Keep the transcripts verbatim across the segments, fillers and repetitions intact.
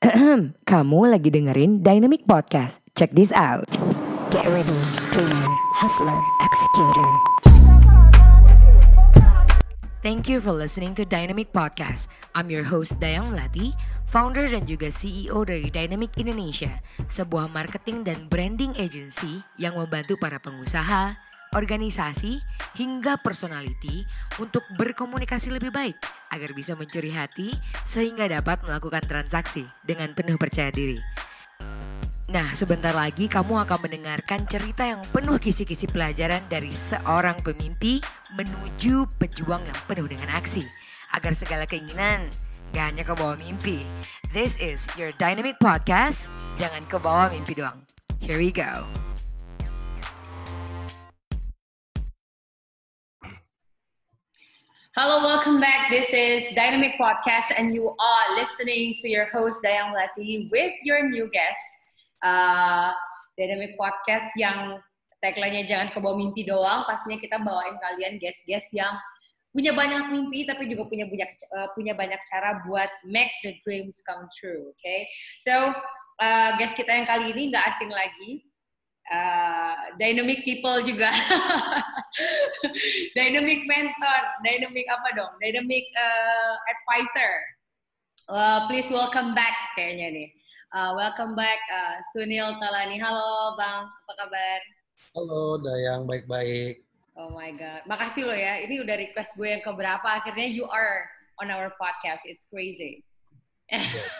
Kamu lagi dengerin Dynamic Podcast. Check this out. Get ready, dreamer, hustler, executor. Thank you for listening to Dynamic Podcast. I'm your host Dayang Melati, founder dan juga C E O dari Dynamic Indonesia, sebuah marketing dan branding agency yang membantu para pengusaha, organisasi, hingga personality untuk berkomunikasi lebih baik agar bisa mencuri hati sehingga dapat melakukan transaksi dengan penuh percaya diri. Nah, sebentar lagi kamu akan mendengarkan cerita yang penuh kisi-kisi pelajaran dari seorang pemimpi menuju pejuang yang penuh dengan aksi agar segala keinginan gak hanya ke bawah mimpi. This is your Dynamic Podcast. Jangan ke bawah mimpi doang. Here we go. Hello, welcome back. This is Dynamic Podcast and you are listening to your host Dayang Melati with your new guest. Uh, Dynamic Podcast yang tagline-nya jangan ke bawah mimpi doang. Pastinya kita bawain kalian guest-guest yang punya banyak mimpi tapi juga punya banyak uh, punya banyak cara buat make the dreams come true. Okay, so uh, guest kita yang kali ini nggak asing lagi. Uh, dynamic people juga, dynamic mentor, dynamic apa dong, dynamic uh, advisor. Uh, please welcome back kayaknya nih. Uh, welcome back uh, Sunil Tolani. Halo Bang, apa kabar? Halo Dayang, baik-baik. Oh my God, makasih lo ya. Ini udah request gue yang keberapa. Akhirnya you are on our podcast. It's crazy. Yes.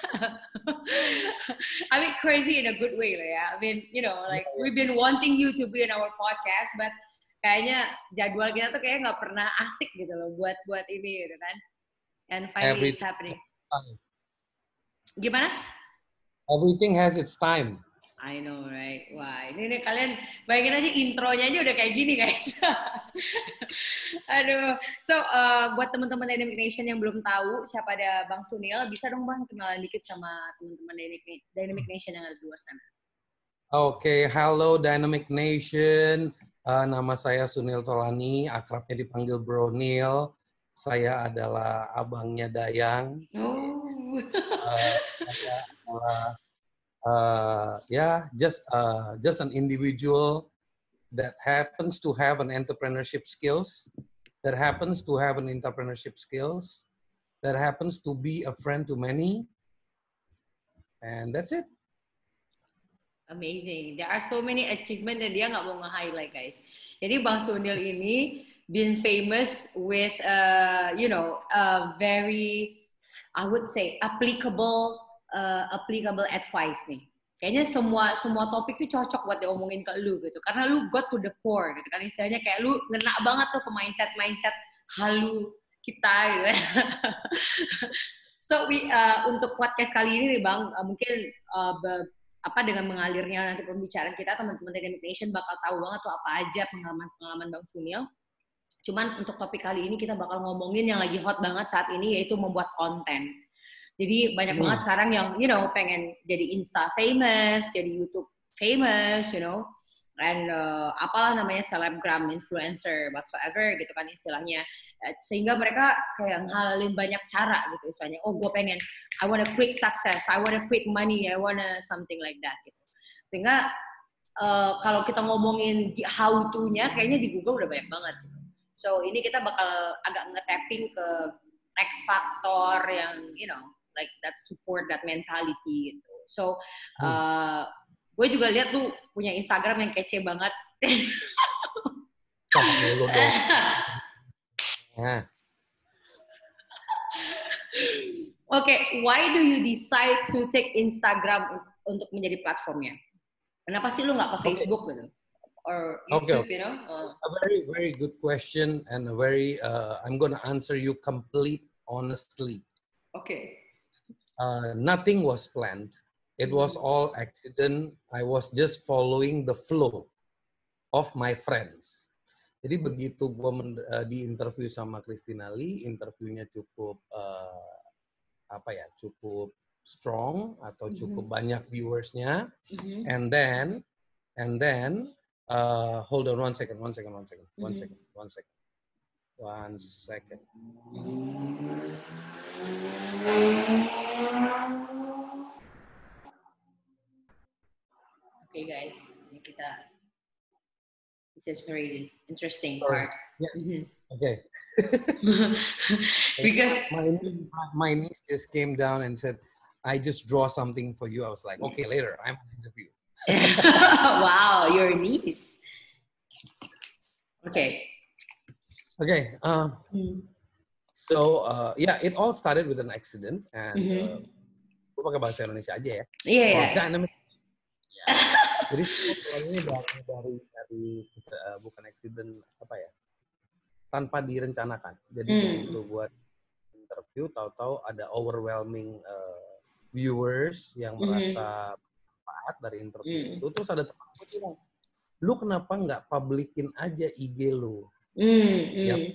I mean crazy in a good way lah ya. I mean, you know, like yeah, yeah. we've been wanting you to be in our podcast, but kayaknya jadwal kita tuh kayaknya nggak pernah asik gitu loh buat buat ini gitu kan. And finally Everything it's happening. Gimana? Everything has its time. I know, right? Wah, ini nih kalian bayangin aja intronya aja udah kayak gini, guys. Aduh. So, uh, buat teman-teman Dynamic Nation yang belum tahu siapa ada Bang Sunil, bisa dong Bang kenalan dikit sama teman-teman Dynamic, Dynamic Nation yang ada di luar sana. Oke, okay, halo Dynamic Nation. Uh, nama saya Sunil Tolani, akrabnya dipanggil Bro Nil. Saya adalah abangnya Dayang. Oh. uh, saya adalah Uh, yeah, just uh, just an individual that happens to have an entrepreneurship skills, that happens to have an entrepreneurship skills, that happens to be a friend to many, and that's it. Amazing. There are so many achievements dan dia nggak mau nge-highlight, guys. Jadi Bang Sunil ini been famous with, uh, you know, a very, I would say, applicable Uh, applicable advice nih. Kayaknya semua semua topik tuh cocok buat diomongin ke lu gitu. Karena lu got to the core gitu kan. Istilahnya kayak lu ngena banget tuh ke mindset-mindset halu kita gitu. So we uh, untuk podcast kali ini nih Bang, uh, mungkin uh, be, apa dengan mengalirnya nanti pembicaraan kita teman-teman Dynamic Nation bakal tahu banget tuh apa aja pengalaman-pengalaman Bang Sunil. Cuman untuk topik kali ini kita bakal ngomongin yang lagi hot banget saat ini yaitu membuat konten. Jadi banyak hmm. banget sekarang yang, you know, pengen jadi Insta famous, jadi YouTube famous, you know, and uh, apalah namanya selebgram, influencer, whatsoever gitu kan istilahnya. Sehingga mereka kayak ngehalalin banyak cara gitu istilahnya. Oh, gue pengen, I want a quick success, I want a quick money, I want a something like that gitu. Sehingga uh, kalau kita ngomongin how to-nya, kayaknya di Google udah banyak banget. Gitu. So ini kita bakal agak nge-tapping ke X factor yang, you know, like that support that mentality gitu. So, uh, gue juga lihat tuh punya Instagram yang kece banget. Oke, okay, why do you decide to take Instagram untuk menjadi platformnya? Kenapa sih lu nggak ke Facebook okay. gitu? Or YouTube, okay. you know? Uh. A very, very good question and a very, uh, I'm gonna answer you complete honestly. Okay. Uh, nothing was planned. It was all accident. I was just following the flow of my friends. Jadi begitu gue uh, di interview sama Christina Lee, interviewnya cukup uh, apa ya, cukup strong atau cukup mm-hmm. banyak viewersnya, mm-hmm. and then and then uh, hold on one second, one second, one second, mm-hmm. one second, one second, one second. Okay guys, ini kita this is very interesting Sorry. part. Yeah. Mm-hmm. Okay. Because my, my niece just came down and said, I just draw something for you. I was like, okay, later, I'm on interview. Wow, your niece. Okay. Okay. Uh, Mm. So, uh, yeah, it all started with an accident. And Mm-hmm. uh, gue pakai bahasa Indonesia aja ya. Iya, Or yeah. dynamic. Yeah. Jadi ini dari, dari, dari uh, bukan accident, apa ya, tanpa direncanakan. Jadi Mm. begitu gue interview, tahu-tahu ada overwhelming uh, viewers yang merasa manfaat dari interview mm. itu. Terus ada teman gue bilang, lu kenapa nggak publikin aja I G lu? Mm. Ya, Mm.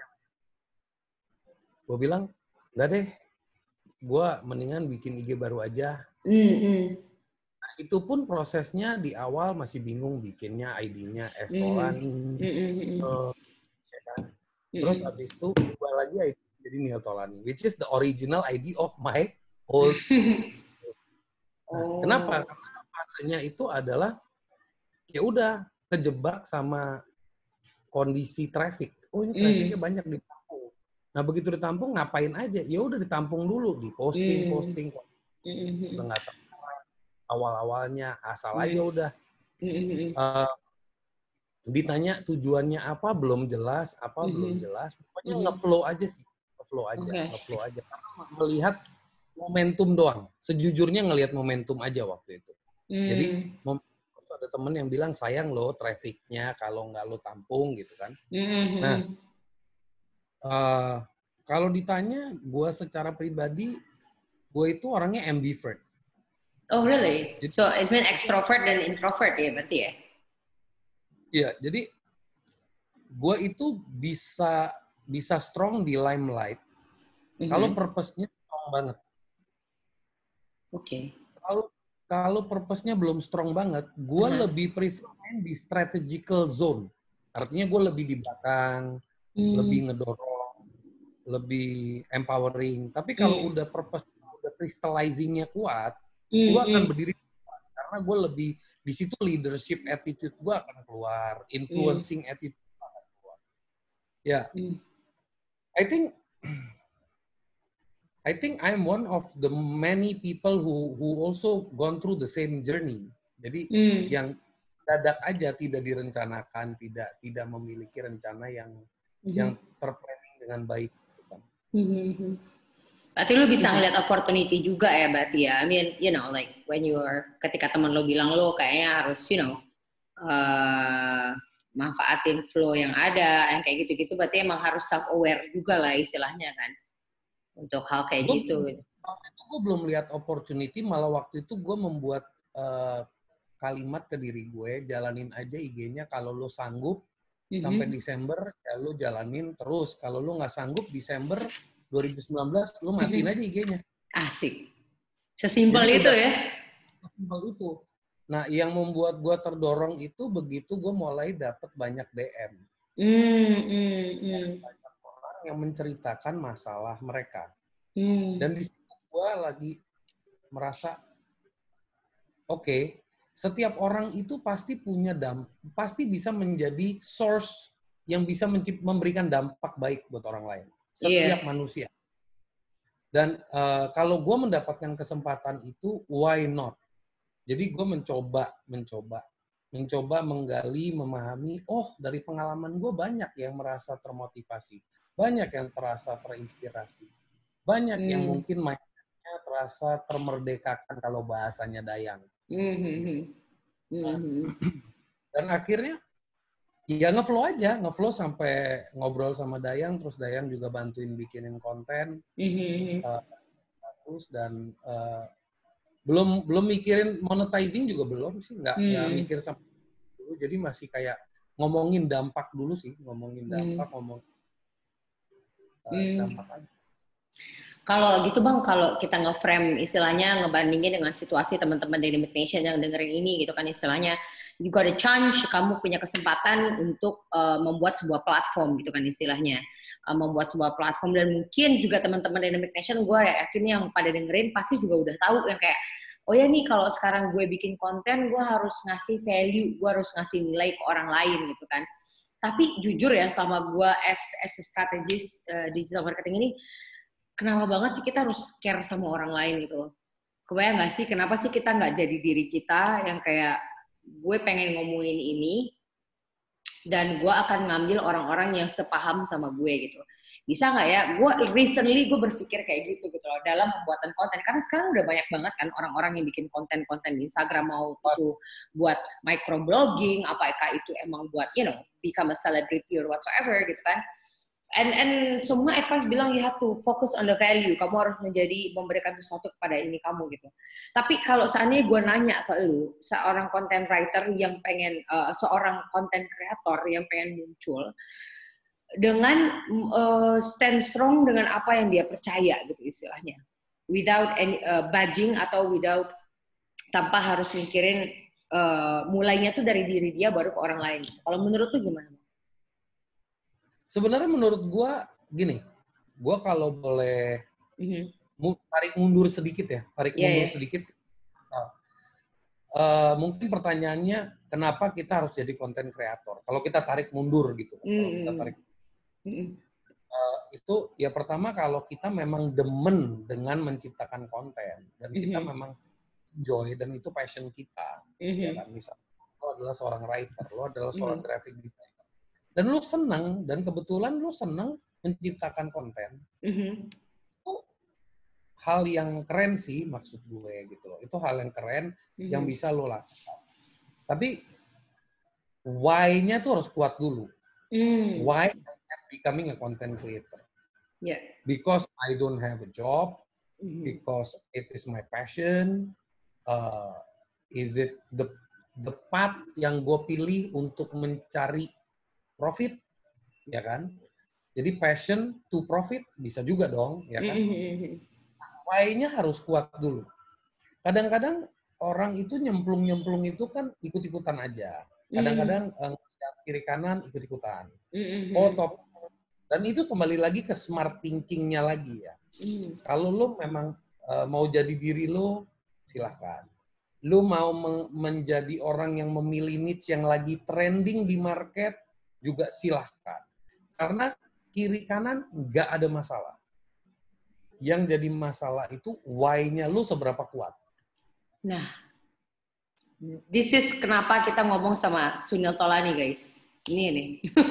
gue bilang, nggak deh, gue mendingan bikin I G baru aja. Mm. Mm. Nah, itu pun prosesnya di awal masih bingung bikinnya I D-nya Estolani. Mm. Mm. Mm. Uh, ya kan? Terus Mm. habis itu ubah lagi I D jadi Neil Tolani, which is the original I D of my old. Nah, Oh. kenapa? Karena fasenya itu adalah ya udah kejebak sama kondisi traffic. Oh ini trafficnya mm. banyak ditampung. Nah begitu ditampung ngapain aja? Ya udah ditampung dulu, di posting, mm. posting. Mm-hmm. Udah nggak tahu awal-awalnya asal mm. aja udah. Mm-hmm. Uh, ditanya tujuannya apa belum jelas, apa mm-hmm. belum jelas. Pokoknya mm-hmm. ngeflow aja sih, ngeflow aja, okay. ngeflow aja. Karena melihat momentum doang. Sejujurnya ngelihat momentum aja waktu itu. Mm. Jadi ada temen yang bilang sayang lo trafficnya kalau nggak lo tampung gitu kan. Mm-hmm. Nah, uh, kalau ditanya gue secara pribadi, gue itu orangnya ambivert. Oh really? Jadi, so it's been extrovert dan introvert ya berarti ya? Iya, jadi gue itu bisa bisa strong di limelight mm-hmm. kalau purpose-nya strong banget. Oke. Okay. Kalau Kalau purpose-nya belum strong banget, gue uh-huh. lebih prefer main di strategical zone. Artinya gue lebih di belakang, hmm. lebih ngedorong, lebih empowering. Tapi kalau hmm. udah purpose, udah crystallizing-nya kuat, hmm. gue akan berdiri kuat. Karena gue lebih, di situ leadership attitude gue akan keluar, influencing hmm. attitude gue akan keluar. Ya, hmm. I think... I think I'm one of the many people who who also gone through the same journey. Jadi mm. yang dadak aja tidak direncanakan, tidak tidak memiliki rencana yang mm-hmm. yang terplanning dengan baik. Mm-hmm. Berarti lu bisa ngeliat opportunity juga ya, berarti ya. I mean, you know, like when you are ketika teman lo bilang lo kayaknya harus, you know, uh, manfaatin flow yang ada, yang kayak gitu-gitu. Berarti emang harus self aware juga lah istilahnya kan. Untuk hal kayak gua, gitu. Waktu itu gue belum lihat opportunity, malah waktu itu gue membuat uh, kalimat ke diri gue, jalanin aja I G-nya kalau lo sanggup mm-hmm. sampai Desember, ya lo jalanin terus. Kalau lo nggak sanggup Desember dua ribu sembilan belas, lo matiin mm-hmm. aja I G-nya. Asik. Sesimpel itu udah, ya? Sesimpel itu. Nah, yang membuat gue terdorong itu begitu gue mulai dapat banyak D M. Mm, mm, mm. Yang menceritakan masalah mereka. Hmm. Dan di situ gue lagi merasa, oke, okay, setiap orang itu pasti punya dampak, pasti bisa menjadi source yang bisa memberikan dampak baik buat orang lain. Setiap yeah. manusia. Dan uh, kalau gue mendapatkan kesempatan itu, why not? Jadi gue mencoba, mencoba, mencoba menggali, memahami, oh dari pengalaman gue banyak yang merasa termotivasi. Banyak yang terasa terinspirasi. Banyak hmm. yang mungkin mindset-nya terasa termerdekakan kalau bahasanya Dayang. Hmm. Nah, dan akhirnya ya ngeflow aja, ngeflow sampai ngobrol sama Dayang, terus Dayang juga bantuin bikinin konten. Hmm. Uh, terus dan uh, belum belum mikirin monetizing juga belum sih, nggak hmm. nggak mikir sampai dulu. Jadi masih kayak ngomongin dampak dulu sih, ngomongin dampak, hmm. ngomong Hmm. Kalau gitu Bang, kalau kita nge-frame istilahnya ngebandingin dengan situasi teman-teman Dynamic Nation yang dengerin ini gitu kan istilahnya, you got a chance, kamu punya kesempatan untuk uh, membuat sebuah platform gitu kan istilahnya, uh, membuat sebuah platform dan mungkin juga teman-teman Dynamic Nation gue yakin yang pada dengerin pasti juga udah tahu yang kayak oh ya nih kalau sekarang gue bikin konten, gue harus ngasih value, gue harus ngasih nilai ke orang lain gitu kan. Tapi jujur ya, selama gue as, as a strategist uh, digital marketing ini, kenapa banget sih kita harus care sama orang lain gitu. Kebayang nggak sih, kenapa sih kita nggak jadi diri kita yang kayak, gue pengen ngomongin ini, dan gue akan ngambil orang-orang yang sepaham sama gue gitu. Bisa nggak ya, gue recently gue berpikir kayak gitu gitu loh dalam pembuatan konten, karena sekarang udah banyak banget kan orang-orang yang bikin konten-konten di Instagram, mau itu buat microblogging, apakah itu emang buat you know become a celebrity or whatsoever gitu kan. And and semua advice bilang you have to focus on the value, kamu harus menjadi memberikan sesuatu kepada ini kamu gitu. Tapi kalau seandainya gue nanya ke lu, seorang content writer yang pengen, uh, seorang content creator yang pengen muncul dengan uh, stand strong dengan apa yang dia percaya gitu istilahnya, without any uh, budging atau without tanpa harus mikirin uh, mulainya tuh dari diri dia baru ke orang lain. Kalau menurut lu gimana? Sebenarnya menurut gue gini, gue kalau boleh mm-hmm. tarik mundur sedikit ya, tarik yeah, mundur yeah. sedikit. Uh, uh, mungkin pertanyaannya kenapa kita harus jadi konten kreator? Kalau kita tarik mundur gitu, mm-hmm. kalau kita tarik mm-hmm. uh, itu ya pertama kalau kita memang demen dengan menciptakan konten dan mm-hmm. kita memang enjoy dan itu passion kita, mm-hmm. ya kan, misalnya lo adalah seorang writer, lo adalah seorang mm-hmm. graphic designer. Dan lu senang, dan kebetulan lu senang menciptakan konten, mm-hmm. itu hal yang keren sih maksud gue gitu loh. Itu hal yang keren mm-hmm. yang bisa lu lakukan. Tapi why-nya tuh harus kuat dulu. Mm. Why I'm becoming a content creator? Yeah. Because I don't have a job, mm-hmm. because it is my passion, uh, is it the the path yang gue pilih untuk mencari profit, ya kan? Jadi passion to profit bisa juga dong, ya kan? Mm-hmm. Why-nya harus kuat dulu. Kadang-kadang orang itu nyemplung-nyemplung itu kan ikut-ikutan aja. Kadang-kadang mm-hmm. kiri kanan ikut-ikutan. Mm-hmm. Oh, top. Dan itu kembali lagi ke smart thinking-nya lagi ya. Mm-hmm. Kalau lo memang uh, mau jadi diri lo, silahkan. Lo mau men- menjadi orang yang memilih niche yang lagi trending di market, juga silahkan. Karena kiri kanan nggak ada masalah. Yang jadi masalah itu why-nya lu seberapa kuat. Nah, this is kenapa kita ngomong sama Sunil Tolani, guys. Ini nih.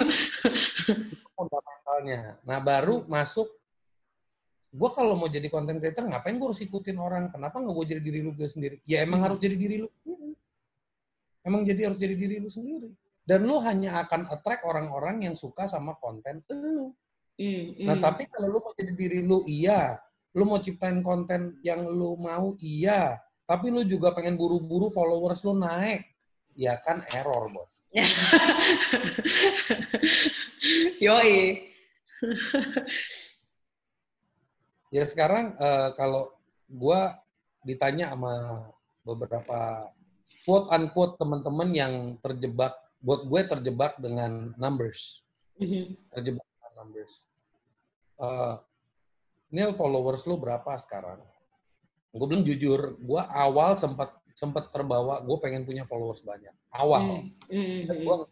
Itu fundamentalnya. Nah, baru masuk, gue kalau mau jadi content creator, ngapain gue harus ikutin orang? Kenapa nggak gue jadi diri lu gue sendiri? Ya emang hmm. harus jadi diri lu sendiri. Emang jadi harus jadi diri lu sendiri. Dan lu hanya akan attract orang-orang yang suka sama konten lu. Mm, mm. Nah, tapi kalau lu mau jadi diri lu, iya. Lu mau ciptain konten yang lu mau, iya. Tapi lu juga pengen buru-buru followers lu naik. Ya kan error, bos. Yoi. Ya sekarang uh, kalau gua ditanya sama beberapa quote-unquote teman-teman yang terjebak, buat gue terjebak dengan numbers. Mm-hmm. Terjebak dengan numbers. Uh, Nil, followers lu berapa sekarang? Gue bilang jujur, gue awal sempat sempat terbawa, gue pengen punya followers banyak. Awal. Mm-hmm. Dan gua,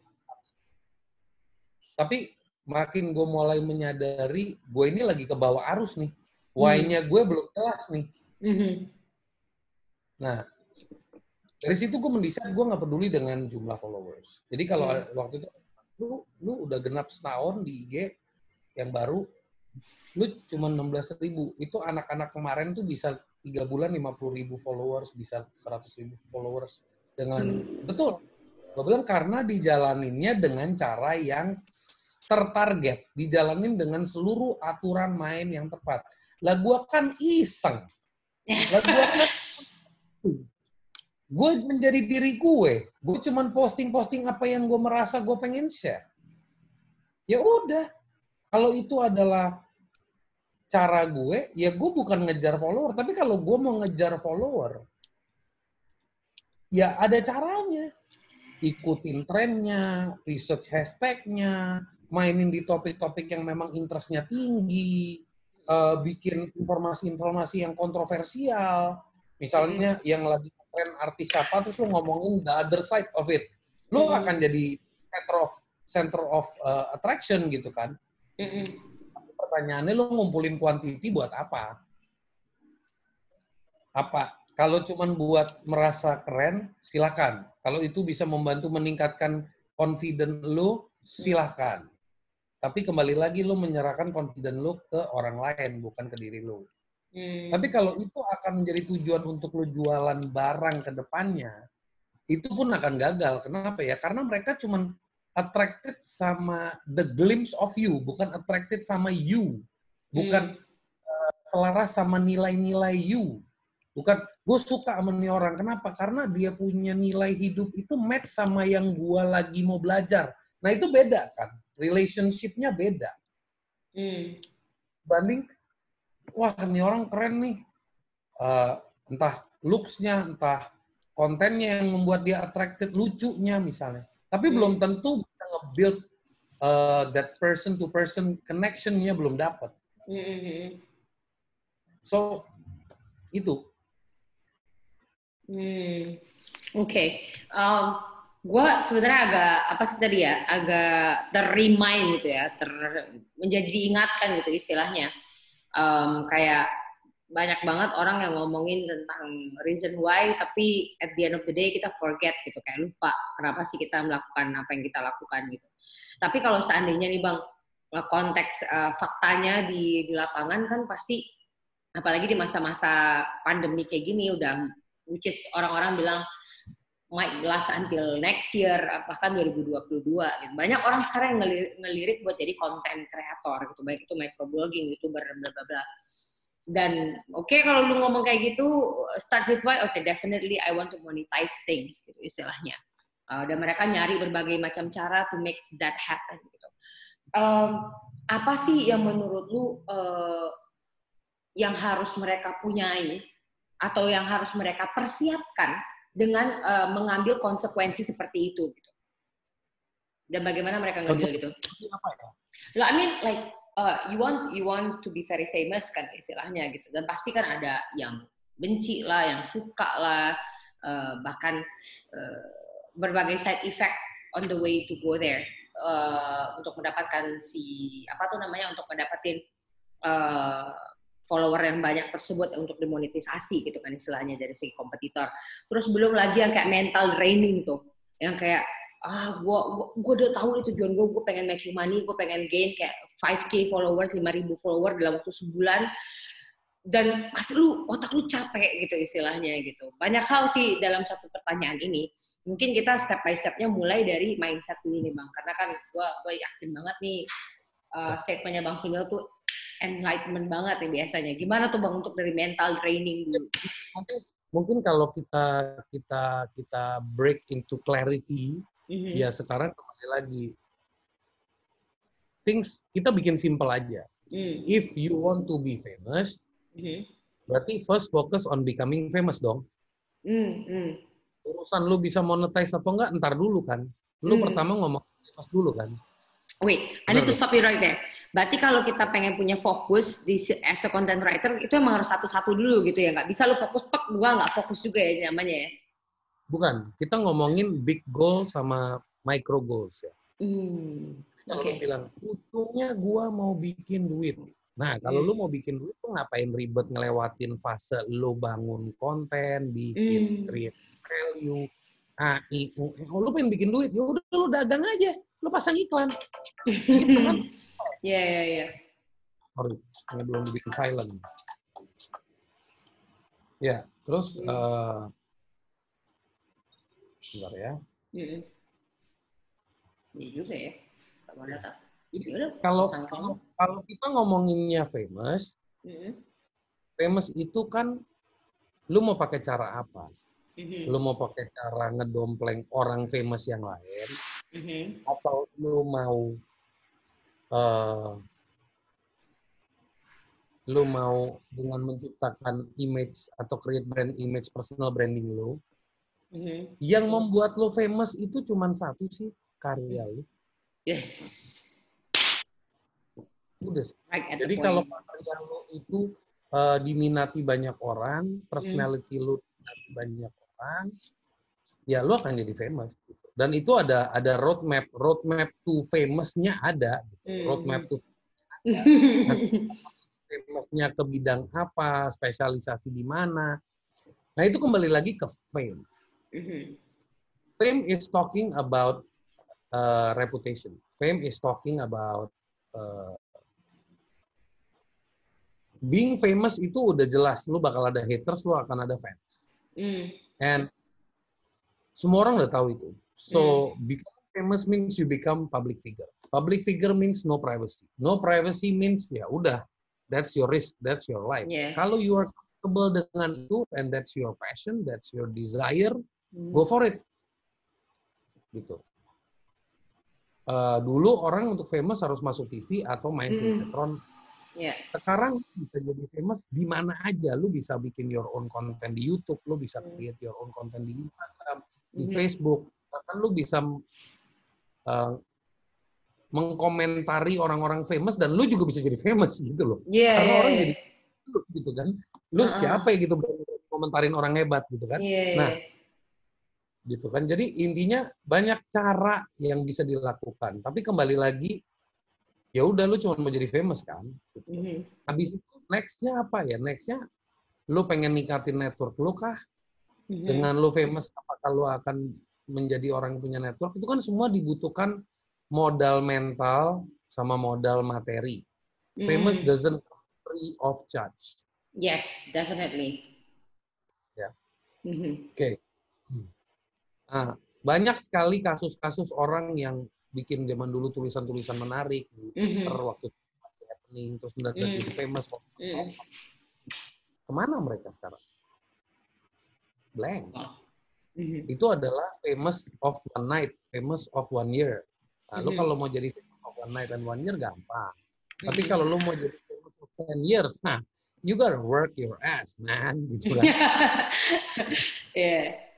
tapi makin gue mulai menyadari, gue ini lagi ke bawah arus nih. Why-nya gue belum jelas nih. Mm-hmm. Nah, dari situ gue mendesain, gue nggak peduli dengan jumlah followers. Jadi kalau hmm. waktu itu, lu, lu udah genap setahun di I G yang baru, lu cuma enam belas ribu. Itu anak-anak kemarin tuh bisa tiga bulan lima puluh ribu followers, bisa seratus ribu followers. Dengan, hmm. betul. Gue bilang karena dijalaninnya dengan cara yang tertarget. Dijalanin dengan seluruh aturan main yang tepat. Lah gue kan iseng. Lah gue kan... Gue menjadi diri gue. Gue cuman posting-posting apa yang gue merasa gue pengen share. Ya udah. Kalau itu adalah cara gue, ya gue bukan ngejar follower. Tapi kalau gue mau ngejar follower, ya ada caranya. Ikutin trennya, research hashtagnya, mainin di topik-topik yang memang interestnya tinggi, uh, bikin informasi-informasi yang kontroversial. Misalnya mm-hmm. yang lagi tren artis siapa, terus lu ngomongin the other side of it. Lu mm-hmm. akan jadi center of center of uh, attraction gitu kan. Mm-hmm. Pertanyaannya lu ngumpulin quantity buat apa? Apa? Kalau cuman buat merasa keren, silakan. Kalau itu bisa membantu meningkatkan confidence lu, silakan. Tapi kembali lagi lu menyerahkan confidence lu ke orang lain, bukan ke diri lu. Hmm. Tapi kalau itu akan menjadi tujuan untuk lu jualan barang ke depannya, itu pun akan gagal. Kenapa ya? Karena mereka cuman attracted sama the glimpse of you, bukan attracted sama you. Bukan hmm. uh, selaras sama nilai-nilai you. Bukan, gue suka sama nih orang. Kenapa? Karena dia punya nilai hidup itu match sama yang gue lagi mau belajar. Nah itu beda kan? Relationship-nya beda. Hmm. Banding, wah nih orang keren nih. Uh, entah looks-nya, entah kontennya yang membuat dia attracted, lucunya misalnya. Tapi hmm. belum tentu bisa nge-build uh, that person-to-person connection-nya belum dapat. Hmm. So, itu. Hmm, oke. Okay. Um, gue sebenarnya agak apa sih tadi ya, agak ter-remind gitu ya, ter menjadi diingatkan gitu istilahnya. Um, kayak banyak banget orang yang ngomongin tentang reason why, tapi at the end of the day kita forget gitu, kayak lupa kenapa sih kita melakukan apa yang kita lakukan gitu. Tapi kalau seandainya nih Bang, konteks uh, faktanya di, di lapangan kan pasti, apalagi di masa-masa pandemi kayak gini udah, which is orang-orang bilang might last until next year, bahkan dua ribu dua puluh dua. Gitu. Banyak orang sekarang yang ngelirik, ngelirik buat jadi content creator, gitu. Baik itu microblogging, youtuber, bla bla bla. Dan oke okay, kalau lu ngomong kayak gitu, start with why, oke okay, definitely I want to monetize things, gitu istilahnya. Uh, dan mereka nyari berbagai macam cara to make that happen. Gitu. Um, apa sih yang menurut lu uh, yang harus mereka punyai atau yang harus mereka persiapkan dengan uh, mengambil konsekuensi seperti itu gitu. Dan bagaimana mereka ngambil itu? Apa ya? Loh, I mean like uh, you want you want to be very famous kan istilahnya gitu. Dan pasti kan ada yang benci lah, yang suka lah, uh, bahkan uh, berbagai side effect on the way to go there uh, untuk mendapatkan si apa tuh namanya untuk mendapatkan uh, follower yang banyak tersebut untuk dimonetisasi gitu kan istilahnya dari segi kompetitor. Terus belum lagi yang kayak mental draining tuh, yang kayak ah gua gua udah tahu itu tujuan gua, gua pengen making money, gua pengen gain kayak five K followers, lima ribu follower dalam waktu sebulan, dan pas lu otak lu capek gitu istilahnya gitu. Banyak hal sih dalam satu pertanyaan ini. Mungkin kita step by stepnya mulai dari mindset dulu nih Bang, karena kan gua gua yakin banget nih uh, statementnya Bang Sunil tuh enlightenment banget ya biasanya. Gimana tuh Bang untuk dari mental training dulu? Mungkin, mungkin kalau kita kita kita break into clarity, mm-hmm. ya sekarang kembali lagi. Things kita bikin simple aja. Mm. If you want to be famous, mm-hmm. berarti first focus on becoming famous dong. Mm-hmm. Urusan lu bisa monetize atau enggak, ntar dulu kan. Lu mm. pertama ngomong famous dulu kan. Wait, I need to stop you right there. Berarti kalau kita pengen punya fokus di as a content writer, itu emang harus satu-satu dulu gitu ya? Nggak bisa lu fokus, pek, gua nggak fokus juga ya namanya ya? Bukan, kita ngomongin big goal sama micro goals ya. Hmm, kalau okay. lu bilang, ujungnya gua mau bikin duit. Nah, kalau hmm. lu mau bikin duit, lu ngapain ribet ngelewatin fase lu bangun konten, bikin hmm. create value, A I, U, lu pengen bikin duit, ya udah lu dagang aja, lu pasang iklan. Gitu kan? Iya, iya, iya. Sorry, ini belum dibikin silent. Ya, terus, hmm. uh, sebentar ya. Hmm. Iya juga ya. Jadi, kalau, kalau, kalau kita ngomonginnya famous, hmm. famous itu kan, lu mau pakai cara apa? Hmm. Lu mau pakai cara ngedompleng orang famous yang lain, hmm. atau lu mau Uh, lu mau dengan menciptakan image atau create brand image, personal branding lu, mm-hmm. yang membuat lu famous itu cuma satu sih, karya lu. Yes. Udah. Right. Jadi kalau karya lu itu uh, diminati banyak orang, personality hmm. lu diminati banyak orang, ya lu akan jadi famous. Gitu. Dan itu ada ada roadmap, roadmap to famous-nya ada. Gitu. Hmm. Roadmap to famousnya ke bidang apa, spesialisasi di mana. Nah itu kembali lagi ke fame. Hmm. Fame is talking about uh, reputation. Fame is talking about uh, being famous itu udah jelas. Lu bakal ada haters, lu akan ada fans. Mm. And semua orang udah tahu itu. So, mm. become famous means you become public figure. Public figure means no privacy. No privacy means ya udah, that's your risk, that's your life. Yeah. Kalau you are comfortable dengan itu, and that's your passion, that's your desire, mm. go for it. Gitu. Uh, dulu orang untuk famous harus masuk T V atau main sinetron. Mm. Yeah. Sekarang bisa jadi famous di mana aja. Lu bisa bikin your own content di YouTube, lu bisa create your own content di Instagram, di mm. Facebook. Bahkan lu bisa uh, mengkomentari orang-orang famous dan lu juga bisa jadi famous gitu loh. Yeah. Karena orang jadi lu gitu kan. Lu uh-uh. siapa ya gitu komentarin orang hebat gitu kan. Yeah. Nah, gitu kan. Jadi intinya banyak cara yang bisa dilakukan. Tapi kembali lagi, ya udah lu cuma mau jadi famous kan. Gitu. Mm-hmm. Habis itu next-nya apa ya? Next-nya lu pengen ningkatin network lu kah? Mm-hmm. Dengan lu famous, apakah lu akan menjadi orang yang punya network? Itu kan semua dibutuhkan modal mental sama modal materi. Mm-hmm. Famous doesn't free of charge. Yes, definitely. Ya. Mm-hmm. Oke. Okay. Nah, banyak sekali kasus-kasus orang yang bikin zaman dulu tulisan-tulisan menarik di Twitter mm-hmm. waktu itu happening, terus mendadak mm-hmm. jadi famous. Mm-hmm. Kemana mereka sekarang? Blank. Mm-hmm. Itu adalah famous of one night, famous of one year. Nah, mm-hmm. lu kalau mau jadi famous of one night and one year gampang. Mm-hmm. Tapi kalau lu mau jadi famous of ten years, nah, you gotta work your ass, man. Gitu kan. Yeah.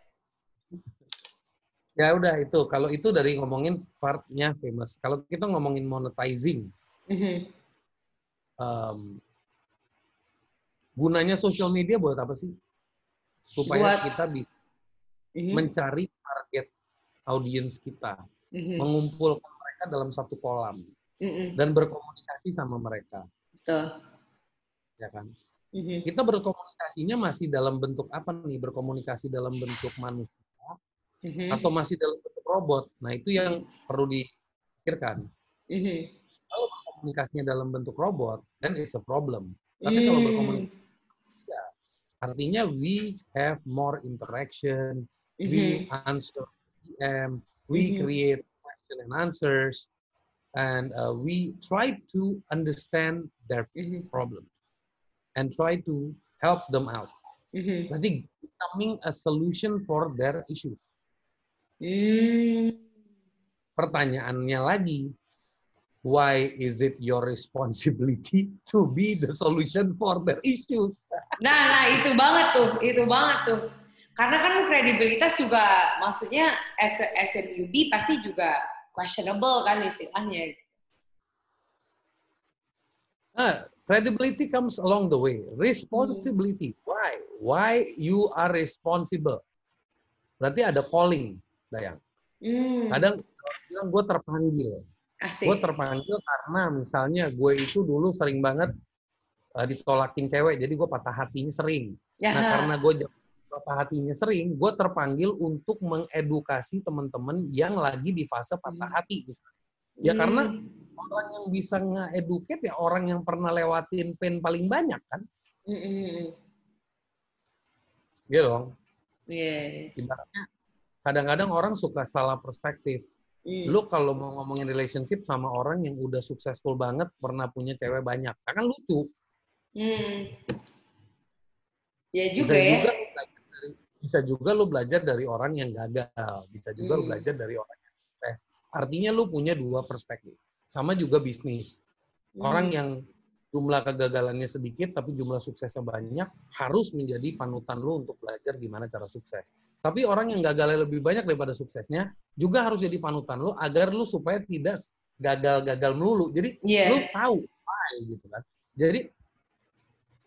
Ya udah itu. Kalau itu dari ngomongin partnya famous. Kalau kita ngomongin monetizing, mm-hmm. um, gunanya social media buat apa sih? Supaya buat, kita bisa mm-hmm. mencari target audiens kita, mm-hmm. mengumpulkan mereka dalam satu kolam, mm-hmm. dan berkomunikasi sama mereka. Betul. Ya kan? Mm-hmm. Kita berkomunikasinya masih dalam bentuk apa nih? Berkomunikasi dalam bentuk manusia. Mm-hmm. Atau masih dalam bentuk robot. Nah, itu yang perlu dipikirkan. Mm-hmm. Kalau komunikasinya dalam bentuk robot, then it's a problem. Tapi mm. kalau berkomunikasi, ya, artinya we have more interaction, mm-hmm. we answer D M, we mm-hmm. create question and answers, and uh, we try to understand their mm-hmm. problems and try to help them out. Mm-hmm. Berarti becoming a solution for their issues. Hmm. Pertanyaannya lagi, why is it your responsibility to be the solution for their issues? Nah, nah itu banget tuh, itu banget tuh. Karena kan kredibilitas juga, maksudnya as a, as a newbie pasti juga questionable kan istilahnya. Nah, credibility comes along the way. Responsibility, hmm. why? Why you are responsible? Berarti ada calling. Dayang. Hmm. Kadang bilang gue terpanggil. Gue terpanggil karena misalnya gue itu dulu sering banget uh, ditolakin cewek, jadi gue patah hatinya sering. Ya. Nah karena gue patah hatinya sering, gue terpanggil untuk mengedukasi teman-teman yang lagi di fase patah hati. Misalnya. Ya hmm. karena orang yang bisa nge-educate ya orang yang pernah lewatin pain paling banyak kan. Hmm. Gitu dong. Yeah. Ibaratnya kadang-kadang orang suka salah perspektif. Mm. Lu kalau mau ngomongin relationship sama orang yang udah successful banget, pernah punya cewek banyak, kan lucu. Mm. Ya juga bisa ya. Juga dari, bisa juga lu belajar dari orang yang gagal. Bisa juga mm. lu belajar dari orang yang sukses. Artinya lu punya dua perspektif. Sama juga bisnis. Mm. Orang yang jumlah kegagalannya sedikit, tapi jumlah suksesnya banyak, harus menjadi panutan lu untuk belajar gimana cara sukses. Tapi orang yang gagalnya lebih banyak daripada suksesnya, juga harus jadi panutan lu, agar lu supaya tidak gagal-gagal melulu. Jadi, yeah. lu tahu why, gitu kan. Jadi,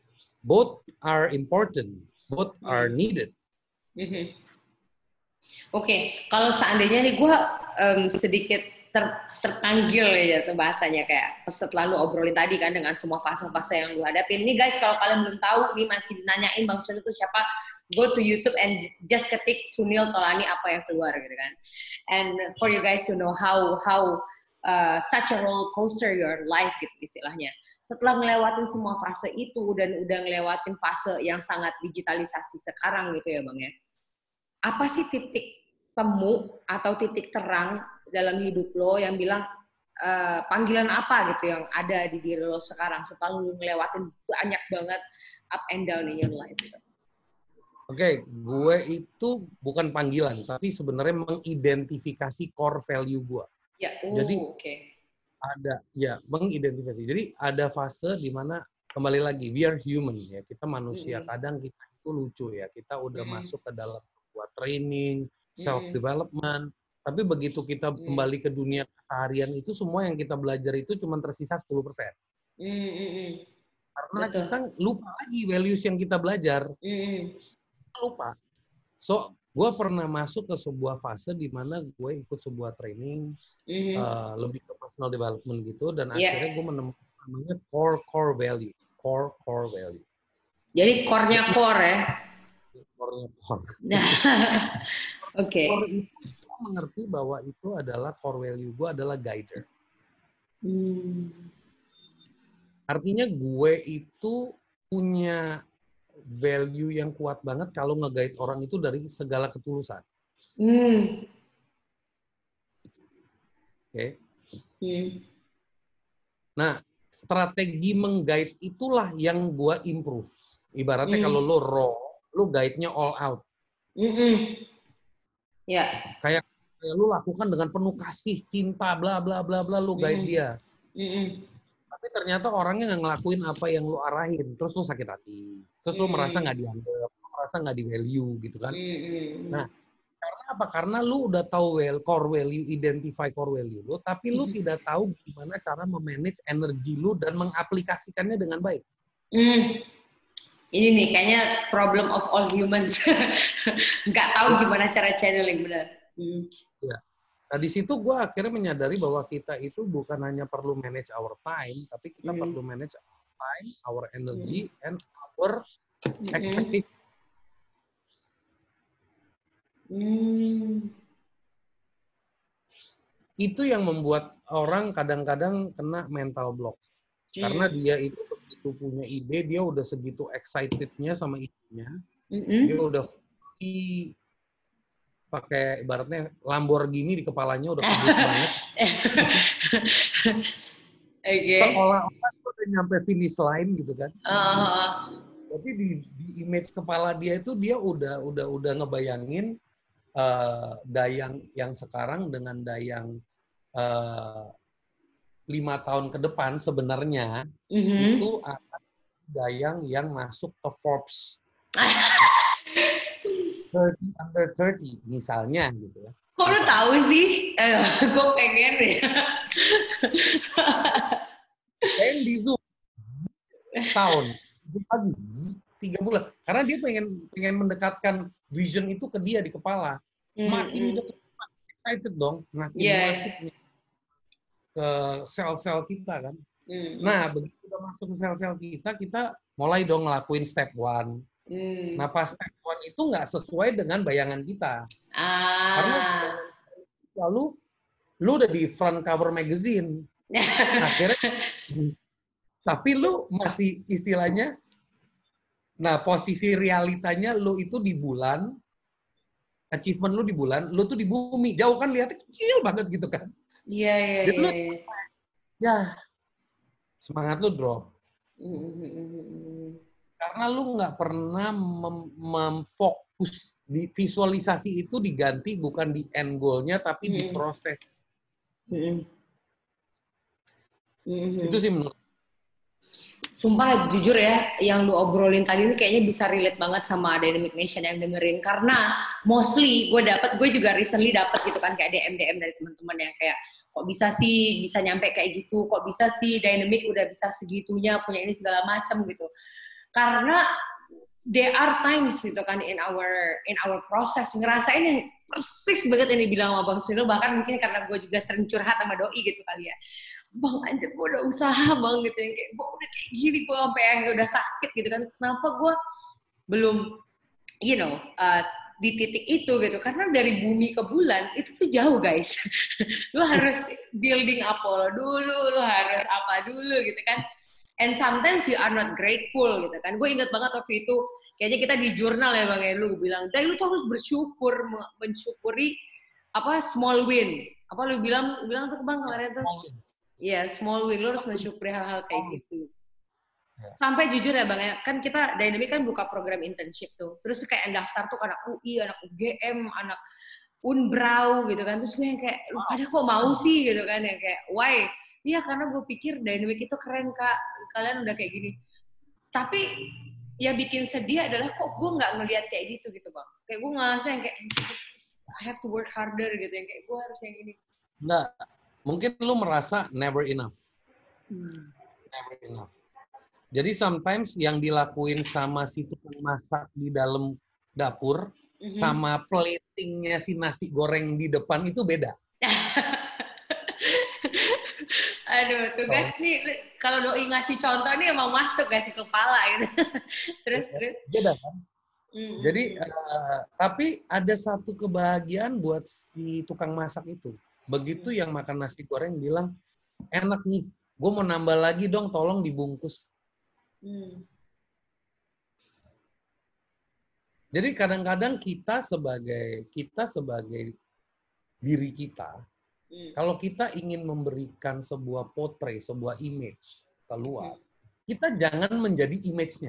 both are important, both mm-hmm. are needed. Mm-hmm. Oke, okay. Kalau seandainya nih gue um, sedikit ter, terpanggil ya tuh bahasanya kayak setelah lu obrolin tadi kan dengan semua fase-fase yang lu hadapin. Ini guys, kalau kalian belum tahu nih masih nanyain Bang Sunil itu siapa, go to YouTube and just ketik Sunil Tolani apa yang keluar gitu kan. And for you guys to know how how uh, such a roller coaster your life gitu istilahnya. Setelah ngelewatin semua fase itu dan udah ngelewatin fase yang sangat digitalisasi sekarang gitu ya Bang ya. Apa sih titik temu atau titik terang dalam hidup lo yang bilang uh, panggilan apa gitu yang ada di diri lo sekarang setelah lo ngelewatin banyak banget up and down in your life gitu? Oke, okay, gue itu bukan panggilan, tapi sebenarnya mengidentifikasi core value gue. Ya, oh, jadi okay. ada ya mengidentifikasi. Jadi ada fase di mana kembali lagi we are human ya, kita manusia. Mm-hmm. Kadang kita itu lucu ya, kita udah mm-hmm. masuk ke dalam buat training, self development. Mm-hmm. Tapi begitu kita mm-hmm. kembali ke dunia keseharian itu semua yang kita belajar itu cuma tersisa sepuluh persen. Mm-hmm. Karena Betul. Kita lupa lagi values yang kita belajar. Mm-hmm. Lupa. So, gue pernah masuk ke sebuah fase di mana gue ikut sebuah training mm-hmm. uh, lebih ke personal development gitu, dan yeah. akhirnya gue menemukan namanya core core value, core core value. Jadi core-nya core ya? Core-nya core. Oke. Core itu gue mengerti bahwa itu adalah core value gue adalah guider. Hmm. Artinya gue itu punya value yang kuat banget kalau nge-guide orang itu dari segala ketulusan. Hmm. Oke. Okay. Hmm. Nah, strategi meng-guide itulah yang gua improve. Ibaratnya hmm. kalau lo raw, lo guide-nya all out. Mm-mm. Ya. Yeah. Kayak, kayak lo lakukan dengan penuh kasih, cinta, bla bla bla bla, lo guide mm-mm. dia. Mm-mm. Tapi ternyata orangnya nggak ngelakuin apa yang lo arahin, terus lo sakit hati, terus lo mm. merasa nggak dianggap, lo merasa nggak di value gitu kan. Mm. Nah, karena apa? Karena lo udah tahu well, core value, identify core value lo, tapi lo mm. tidak tahu gimana cara memanage energi lo dan mengaplikasikannya dengan baik. Mm. Ini nih kayaknya problem of all humans, nggak tahu gimana cara channeling benar. Mm. Ya. Nah, di situ gue akhirnya menyadari bahwa kita itu bukan hanya perlu manage our time, tapi kita mm. perlu manage our time, our energy, mm. and our expectation. Mm. Itu yang membuat orang kadang-kadang kena mental block. Mm. Karena dia itu begitu punya ide, dia udah segitu excitednya sama idenya, mm-hmm. dia udah fully pakai ibaratnya Lamborghini di kepalanya udah kebut banget. Okay. Seolah-olah udah nyampe finish line gitu kan. Uh. Tapi di, di image kepala dia itu dia udah udah udah ngebayangin uh, Dayang yang sekarang dengan Dayang uh, lima tahun ke depan sebenarnya mm-hmm. itu akan Dayang yang masuk ke Forbes. thirty under thirty misalnya gitu ya. Kok lu tahu sih? Eh, gue pengen deh. Pengen di Zoom tahun, tiga bulan. Karena dia pengen pengen mendekatkan vision itu ke dia di kepala. Mm-hmm. Makin udah excited dong, makin yeah. masuk ke sel-sel kita kan. Mm-hmm. Nah, begitu udah masuk ke sel-sel kita, kita mulai dong ngelakuin step one. Hmm. Nah pas step one itu nggak sesuai dengan bayangan kita, ah. karena lalu lu udah di front cover magazine, akhirnya, tapi lu masih istilahnya, nah posisi realitanya lu itu di bulan, achievement lu di bulan, lu tuh di bumi, jauh kan lihatnya kecil banget gitu kan? Iya iya iya. Ya semangat lu drop. Mm-hmm. Karena lu nggak pernah mem- memfokus di visualisasi itu diganti bukan di end goal-nya tapi mm-hmm. di proses. Mm-hmm. Mm-hmm. Itu sih menurut. Sumpah jujur ya, yang lu obrolin tadi ini kayaknya bisa relate banget sama Dynamic Nation yang dengerin, karena mostly gue dapet, gue juga recently dapet gitu kan kayak D M D M dari teman-teman yang kayak kok bisa sih bisa nyampe kayak gitu, kok bisa sih Dynamic udah bisa segitunya punya ini segala macam gitu. Karena there are times gitu kan in our in our process ngerasain yang persis banget yang dibilang sama Bang Sunil, bahkan mungkin karena gue juga sering curhat sama doi gitu kali ya. Bang anjir gue udah usaha bang gitu yang kayak gue udah kayak gini gue sampai yang udah sakit gitu kan, kenapa gue belum you know uh, di titik itu gitu, karena dari bumi ke bulan itu tuh jauh guys. Lu harus building apa dulu, lu harus apa dulu gitu kan, and sometimes you are not grateful gitu kan. Gue ingat banget waktu itu kayaknya kita di jurnal ya bang ya, lu bilang dan lu tuh harus bersyukur, mensyukuri apa small win, apa lu bilang lu bilang tuh bang kemarin tuh. Iya, yeah, small win, lo harus mensyukuri hal-hal kayak gitu. Yeah. Sampai jujur ya Bang ya, kan kita Dynamic kan buka program internship tuh. Terus kayak yang daftar tuh anak U I, anak U G M, anak Unbrau gitu kan. Terus gue yang kayak, lu pada kok mau sih gitu kan. Yang kayak, why? Iya karena gue pikir Dynamic itu keren Kak, kalian udah kayak gini. Tapi ya bikin sedih adalah kok gue nggak ngelihat kayak gitu gitu Bang. Kayak gue ngerasa yang kayak, I have to work harder gitu. Yang kayak gue harus yang ini. Nggak. Mungkin lu merasa never enough. Hmm. Never enough. Jadi sometimes yang dilakuin sama si tukang masak di dalam dapur mm-hmm. sama platingnya si nasi goreng di depan itu beda. Aduh, tugas so, nih kalau doi ngasih contoh nih emang masuk ngasih kepala gitu. terus terus. Beda kan? Mm-hmm. Jadi uh, tapi ada satu kebahagiaan buat si tukang masak itu. Begitu yang makan nasi goreng bilang, enak nih, gue mau nambah lagi dong, tolong dibungkus. Hmm. Jadi kadang-kadang kita sebagai kita sebagai diri kita, hmm. kalau kita ingin memberikan sebuah potret, sebuah image keluar, hmm. kita jangan menjadi image-nya.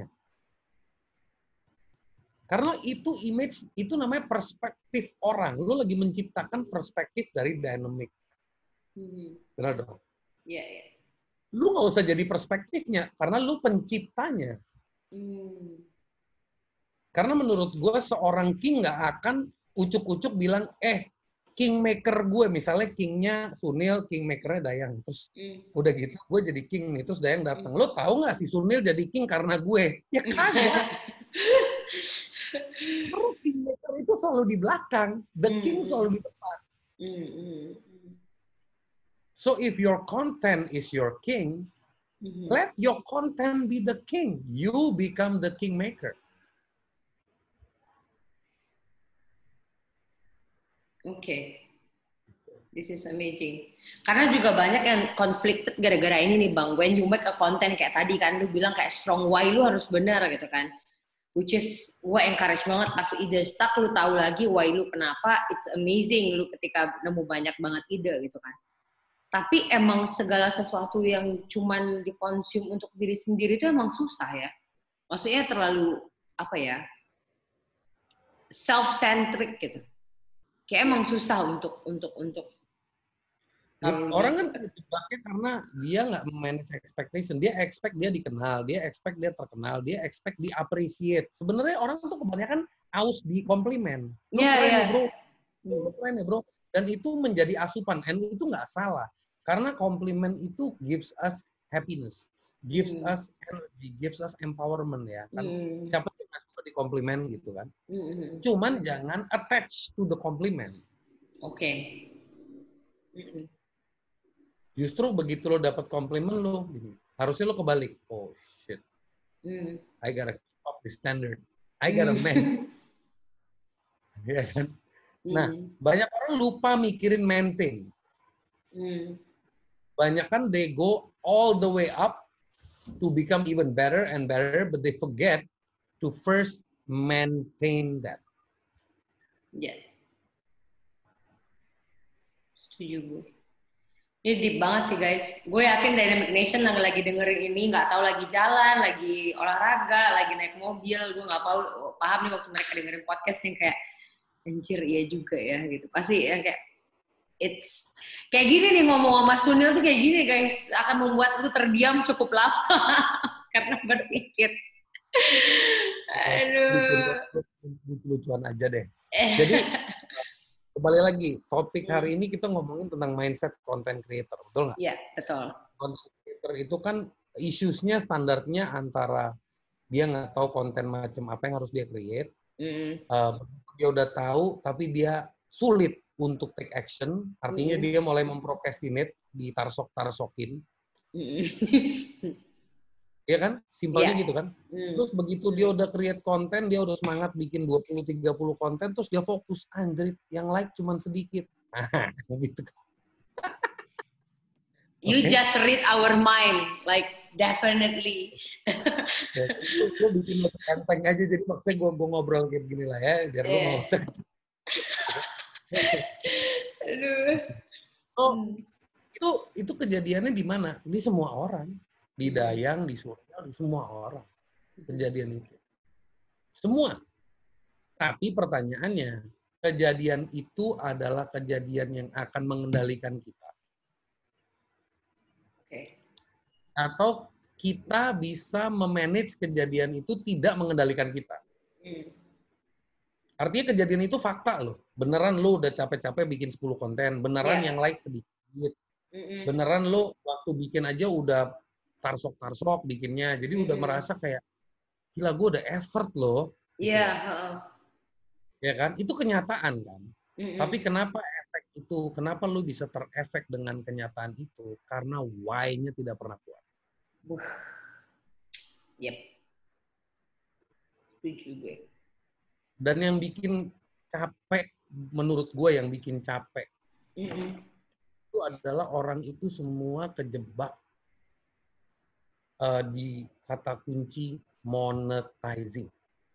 Karena itu image, itu namanya perspektif orang. Lu lagi menciptakan perspektif dari Dynamic. Hmm. Benar dong? Iya, yeah, iya. Yeah. Lu nggak usah jadi perspektifnya, karena lu penciptanya. Hmm. Karena menurut gue, seorang king nggak akan ucuk-ucuk bilang, eh, kingmaker gue, misalnya kingnya Sunil, kingmakernya Dayang. Terus hmm. udah gitu, gue jadi king nih, terus Dayang datang. Hmm. Lu tahu nggak si Sunil jadi king karena gue? Ya kagak. Karena kingmaker itu selalu di belakang, the mm. king selalu di depan. Mm, mm, mm. So if your content is your king, mm-hmm. let your content be the king. You become the kingmaker. Oke, okay. This is amazing. Karena juga banyak yang conflicted gara-gara ini nih Bang. When you make a content kayak tadi kan, lu bilang kayak strong why lu harus benar gitu kan. Which is, gue encourage banget pas ide stuck, lu tahu lagi why lu kenapa, it's amazing lu ketika nemu banyak banget ide gitu kan. Tapi emang segala sesuatu yang cuman dikonsum untuk diri sendiri itu emang susah ya. Maksudnya terlalu, apa ya, self-centric gitu. Kayak emang susah untuk, untuk, untuk. Orang kan terjebaknya karena dia nggak manage expectation. Dia expect dia dikenal, dia expect dia terkenal, dia expect di appreciate. Sebenarnya orang tuh kebanyakan aus di komplimen. Lu yeah, keren yeah. ya bro, lu keren ya bro. Dan itu menjadi asupan, and itu nggak salah. Karena komplimen itu gives us happiness, gives mm. us energy, gives us empowerment ya. Kan mm. siapa yang nggak suka di komplimen gitu kan. Mm. Cuman jangan attach to the compliment. Oke. Okay. Mm. Justru begitu lo dapat komplimen lo, harusnya lo kebalik. Oh shit, mm. I gotta keep up the standard. I gotta mm. man. Ya kan? Mm. Nah, banyak orang lupa mikirin maintain. Mm. Banyak kan they go all the way up to become even better and better, but they forget to first maintain that. Ya. Yeah. Setuju gue. Ini deep banget sih guys. Gue yakin Dynamic Nation yang lagi dengerin ini nggak tahu lagi jalan, lagi olahraga, lagi naik mobil. Gue nggak tahu paham nih waktu mereka dengerin podcast nih kayak anjir iya juga ya gitu. Pasti yang kayak it's kayak gini nih ngomong sama Sunil tuh kayak gini guys akan membuat lu terdiam cukup lama karena berpikir. Aduh. Lucu-lucuan aja deh. Jadi kembali lagi, topik hari ini kita ngomongin tentang mindset content creator, betul nggak? Iya, betul. Content creator itu kan issues-nya standarnya antara dia nggak tahu konten macam apa yang harus dia create. Mm. Uh, dia udah tahu, tapi dia sulit untuk take action. Artinya mm. dia mulai memprocrastinate, ditarsok-tarsokin. Mm. Iya kan? Simpelnya yeah. gitu kan? Mm. Terus begitu dia udah create konten, dia udah semangat bikin dua puluh tiga puluh konten, terus dia fokus, anjir, yang like cuman sedikit. Nah, gitu kan. You okay. just read our mind, like definitely. Ya, lu, lu bikin lebih enteng aja, jadi maksudnya gue gue ngobrol kayak begini lah ya, biar yeah. lu nggak usah. Aduh. Oh, hmm. itu itu kejadiannya di mana? Di semua orang, di Dayang, di Surya, di semua orang kejadian itu. Semua. Tapi pertanyaannya, kejadian itu adalah kejadian yang akan mengendalikan kita. Oke. Okay. Atau kita bisa memanage kejadian itu tidak mengendalikan kita. Hmm. Artinya kejadian itu fakta loh. Beneran lu udah capek-capek bikin sepuluh konten. Beneran yeah. yang like sedikit. Mm-mm. Beneran lu waktu bikin aja udah tarsok-tarsok bikinnya. Jadi mm-mm. udah merasa kayak, gila gue udah effort loh. Iya. Yeah. Uh-uh. Ya kan? Itu kenyataan kan. Mm-mm. Tapi kenapa efek itu, kenapa lu bisa terefek dengan kenyataan itu? Karena why-nya tidak pernah kuat. Buh. Yep. Setuju gue. Dan yang bikin capek, menurut gue yang bikin capek, mm-hmm. itu adalah orang itu semua kejebak uh, di kata kunci monetizing.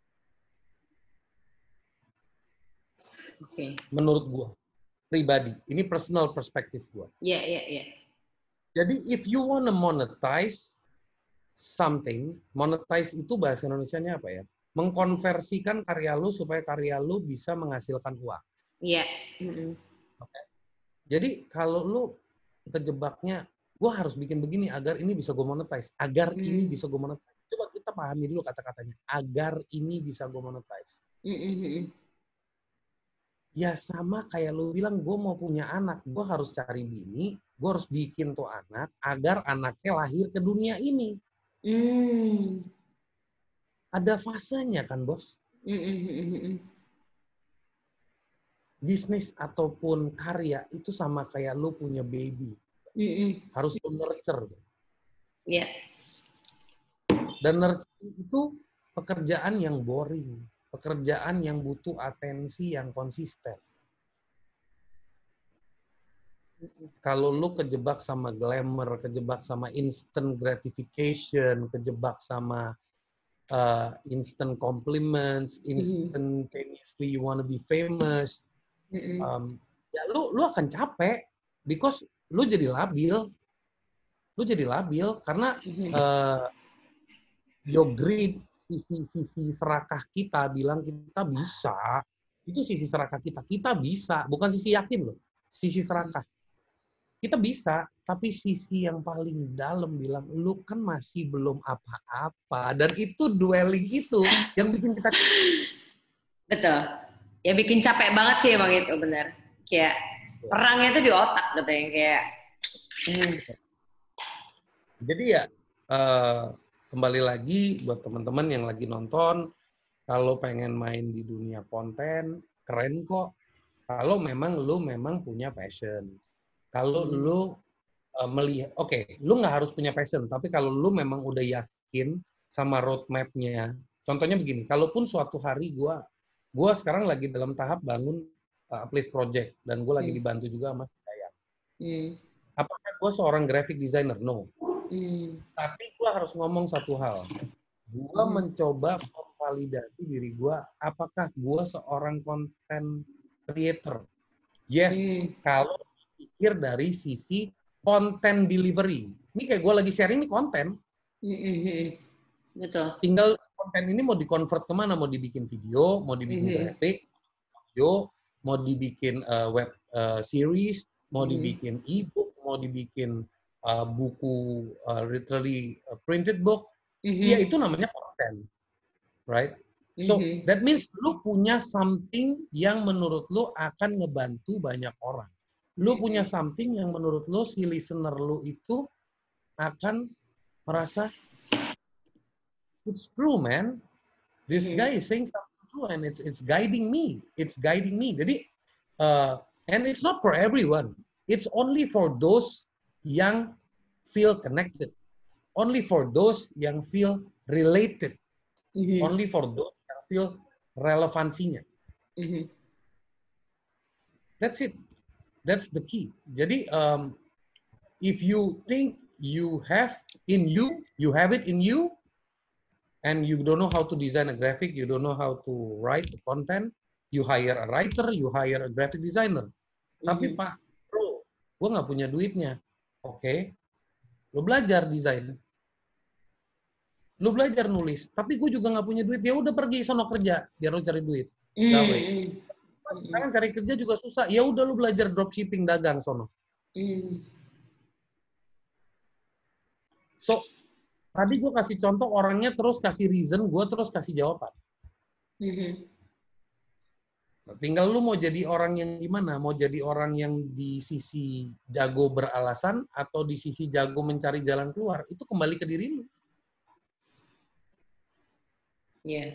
Okay. Menurut gue, pribadi. Ini personal perspektif gue. Iya, yeah, iya, yeah, iya. Yeah. Jadi, if you wanna monetize something, monetize itu bahasa Indonesianya apa ya? Mengkonversikan karya lu supaya karya lu bisa menghasilkan uang. Iya. Yeah. Mm-hmm. Okay. Jadi kalau lu kejebaknya, gue harus bikin begini agar ini bisa gue monetize, agar mm. ini bisa gue monetize. Coba kita pahami dulu kata-katanya, agar ini bisa gue monetize. Mm-hmm. Ya sama kayak lu bilang, gue mau punya anak, gue harus cari bini, gue harus bikin tuh anak agar anaknya lahir ke dunia ini. Mm. Ada fasenya kan, Bos? Mm-mm. Bisnis ataupun karya itu sama kayak lu punya baby. Mm-mm. Harus lu nurture. Iya. Yeah. Dan nurture itu pekerjaan yang boring. Pekerjaan yang butuh atensi yang konsisten. Kalau lu kejebak sama glamour, kejebak sama instant gratification, kejebak sama Uh, instant compliments, instantaneously you want to be famous, mm-hmm. um, ya lu lu akan capek, because lu jadi labil, lu jadi labil karena mm-hmm. uh, your greed, sisi sisi serakah kita bilang kita bisa, itu sisi serakah kita, kita bisa, bukan sisi yakin loh, sisi serakah. Kita bisa, tapi sisi yang paling dalam bilang, lu kan masih belum apa-apa. Dan itu dwelling itu yang bikin kita... Betul. Ya bikin capek banget sih emang itu, benar. Kayak perangnya itu di otak gitu yang kayak... Hmm. Jadi ya, uh, kembali lagi buat teman-teman yang lagi nonton, kalau pengen main di dunia konten, keren kok. Kalau memang lu memang punya passion. Kalau hmm. lu uh, melihat, oke, okay, lu nggak harus punya passion, tapi kalau lu memang udah yakin sama roadmap-nya, contohnya begini, kalaupun suatu hari gue, gue sekarang lagi dalam tahap bangun uh, uplift project, dan gue lagi hmm. dibantu juga sama Dayang. Hmm. Apakah gue seorang graphic designer? No. Hmm. Tapi gue harus ngomong satu hal. Gue hmm. mencoba memvalidasi diri gue, apakah gue seorang content creator? Yes, hmm. kalau pikir dari sisi konten delivery. Ini kayak gue lagi sharing ini konten. Mm-hmm. Betul. Tinggal konten ini mau di-convert kemana? Mau dibikin video, mau dibikin mm-hmm. grafik, video, mau dibikin uh, web uh, series, mau mm-hmm. dibikin e-book, mau dibikin uh, buku uh, literally uh, printed book. Mm-hmm. Ya itu namanya konten. Right? So, mm-hmm. that means lu punya something yang menurut lu akan ngebantu banyak orang. Lu punya something yang menurut lu, si listener lu itu akan merasa, it's true, man. This Mhm. guy is saying something true, and it's it's guiding me. It's guiding me. Jadi, uh, and it's not for everyone. It's only for those yang feel connected. Only for those yang feel related. Mhm. Only for those yang feel relevansinya. Mhm. That's it. That's the key. Jadi, um, if you think you have in you, you have it in you, and you don't know how to design a graphic, you don't know how to write the content, you hire a writer, you hire a graphic designer. Tapi Mhm. Pak, bro, gue nggak punya duitnya. Oke, okay. Lo belajar desain, lo belajar nulis, tapi gue juga nggak punya duit. Ya udah pergi sono kerja, biar lo cari duit. Gawe. Mhm. Sekarang cari kerja juga susah. Ya udah lo belajar dropshipping, dagang sono. Mhm. So, tadi gue kasih contoh orangnya terus kasih reason, gue terus kasih jawaban. Mhm. Tinggal lu mau jadi orang yang gimana? Mau jadi orang yang di sisi jago beralasan atau di sisi jago mencari jalan keluar? Itu kembali ke diri lu. Iya.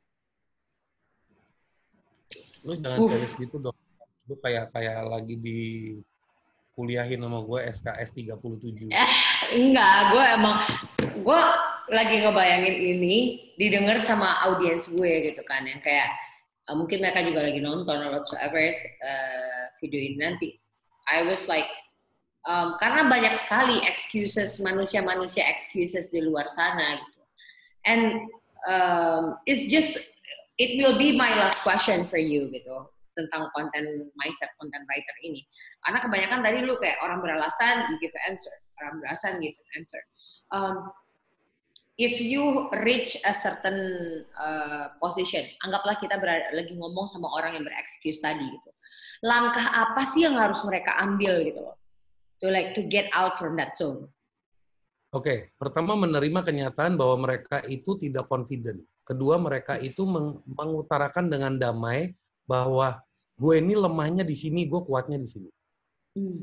Lu jangan Uh. serius gitu dong. Lu kayak kayak lagi di kuliahin sama gue S K S tiga puluh tujuh. Eh, enggak, gue emang gue lagi ngebayangin ini didengar sama audiens gue gitu kan, yang kayak uh, mungkin mereka juga lagi nonton or whatsoever uh, video ini nanti. I was like, um, karena banyak sekali excuses, manusia-manusia excuses di luar sana gitu. And um, it's just, it will be my last question for you gitu, tentang konten mindset content writer ini. Karena kebanyakan tadi lu kayak orang beralasan, you give an answer. Orang beralasan, give an answer. Um, if you reach a certain uh, position, anggaplah kita berada, lagi ngomong sama orang yang berexcuse tadi gitu. Langkah apa sih yang harus mereka ambil gitu loh? To like to get out from that zone. Oke, okay. Pertama menerima kenyataan bahwa mereka itu tidak confident. Kedua, mereka itu meng mengutarakan dengan damai bahwa gue ini lemahnya di sini, gue kuatnya di sini. Hmm.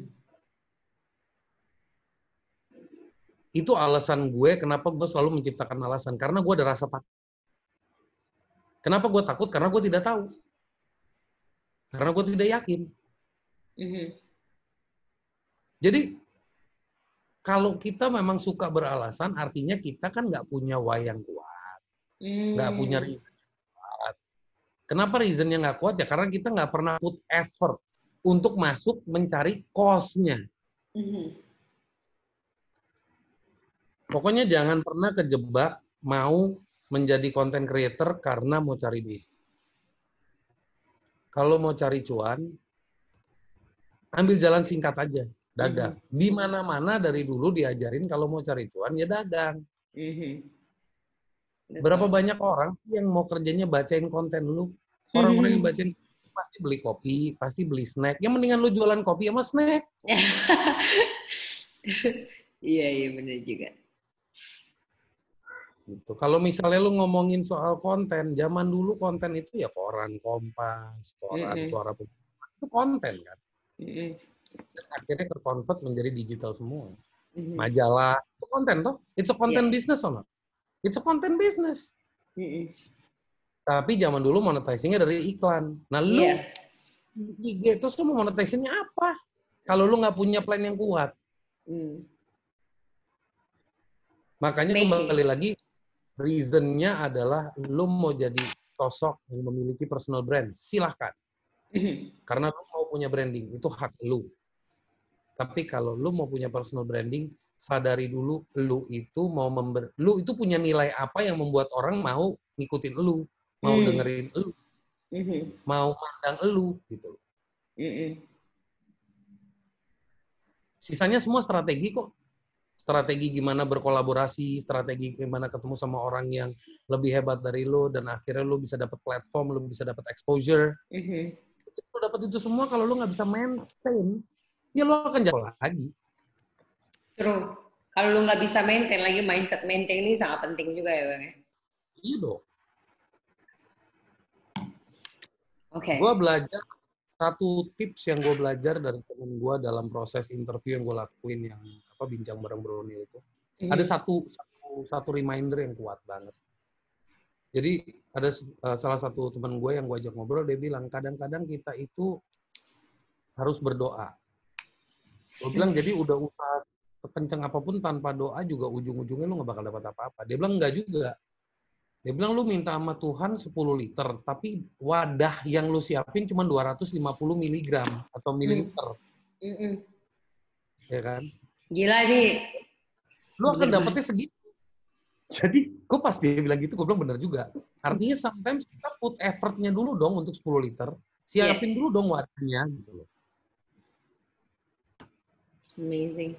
Itu alasan gue kenapa gue selalu menciptakan alasan. Karena gue ada rasa takut. Kenapa gue takut? Karena gue tidak tahu. Karena gue tidak yakin. Mm-hmm. Jadi, kalau kita memang suka beralasan, artinya kita kan nggak punya why yang kuat. Nggak mm. punya reason yang kuat. Kenapa reasonnya nggak kuat? Ya karena kita nggak pernah put effort untuk masuk mencari cause-nya. Mm-hmm. Pokoknya jangan pernah kejebak mau menjadi content creator karena mau cari duit. Kalau mau cari cuan, ambil jalan singkat aja. Dagang. Mm-hmm. Di mana-mana dari dulu diajarin kalau mau cari cuan ya dagang. Mm-hmm. Berapa banyak orang yang mau kerjanya bacain konten lu? Orang-orang mm-hmm. yang bacain pasti beli kopi, pasti beli snack. Yang mendingan lu jualan kopi sama snack. Iya, iya benar juga. Gitu. Kalau misalnya lu ngomongin soal konten, zaman dulu konten itu ya koran Kompas, koran mm-hmm. Suara Publik. Itu konten kan. Mm-hmm. Dan akhirnya terkonvert menjadi digital semua. Mm-hmm. Majalah, itu konten toh? It's a content yeah. business or not? It's a content business. Mm-hmm. Tapi zaman dulu monetizing-nya dari iklan. Nah lu, yeah. I G terus lu mau monetizing-nya apa? Kalau lu nggak punya plan yang kuat. Mm. Makanya Make kembali it. lagi, reason-nya adalah lu mau jadi sosok yang memiliki personal brand. Silahkan. Mm-hmm. Karena lu mau punya branding, itu hak lu. Tapi kalau lu mau punya personal branding, sadari dulu lu itu mau member, lu itu punya nilai apa yang membuat orang mau ngikutin lu, mau mm. dengerin lu, mm-hmm. mau mandang lu gitu. Mm-hmm. Sisanya semua strategi kok. Strategi gimana berkolaborasi, strategi gimana ketemu sama orang yang lebih hebat dari lu dan akhirnya lu bisa dapat platform, lu bisa dapat exposure. Mm-hmm. Lu dapat itu semua kalau lu nggak bisa maintain, ya lo akan jatuh lagi. True. Kalau lo nggak bisa maintain lagi, mindset maintain ini sangat penting juga ya Bang. Iya dong. Oke. Okay. Gue belajar, satu tips yang gue belajar dari temen gue dalam proses interview yang gue lakuin, yang apa bincang bareng Brownie itu. Mm-hmm. Ada satu, satu, satu reminder yang kuat banget. Jadi ada uh, salah satu teman gue yang gue ajak ngobrol, dia bilang kadang-kadang kita itu harus berdoa. Gue bilang jadi udah usaha kenceng apapun tanpa doa juga ujung-ujungnya lu nggak bakal dapat apa-apa. Dia bilang enggak juga. Dia bilang lu minta sama Tuhan sepuluh liter, tapi wadah yang lu siapin cuma dua ratus lima puluh miligram atau mililiter. Mm. Mm-mm. Ya kan? Gila nih. Lu akan dapetnya segitu. Jadi, gue pas dia bilang gitu, gue bilang bener juga. Artinya sometimes kita put effort-nya dulu dong untuk sepuluh liter. Siapin yeah. dulu dong wadahnya. Gitu loh. Amazing.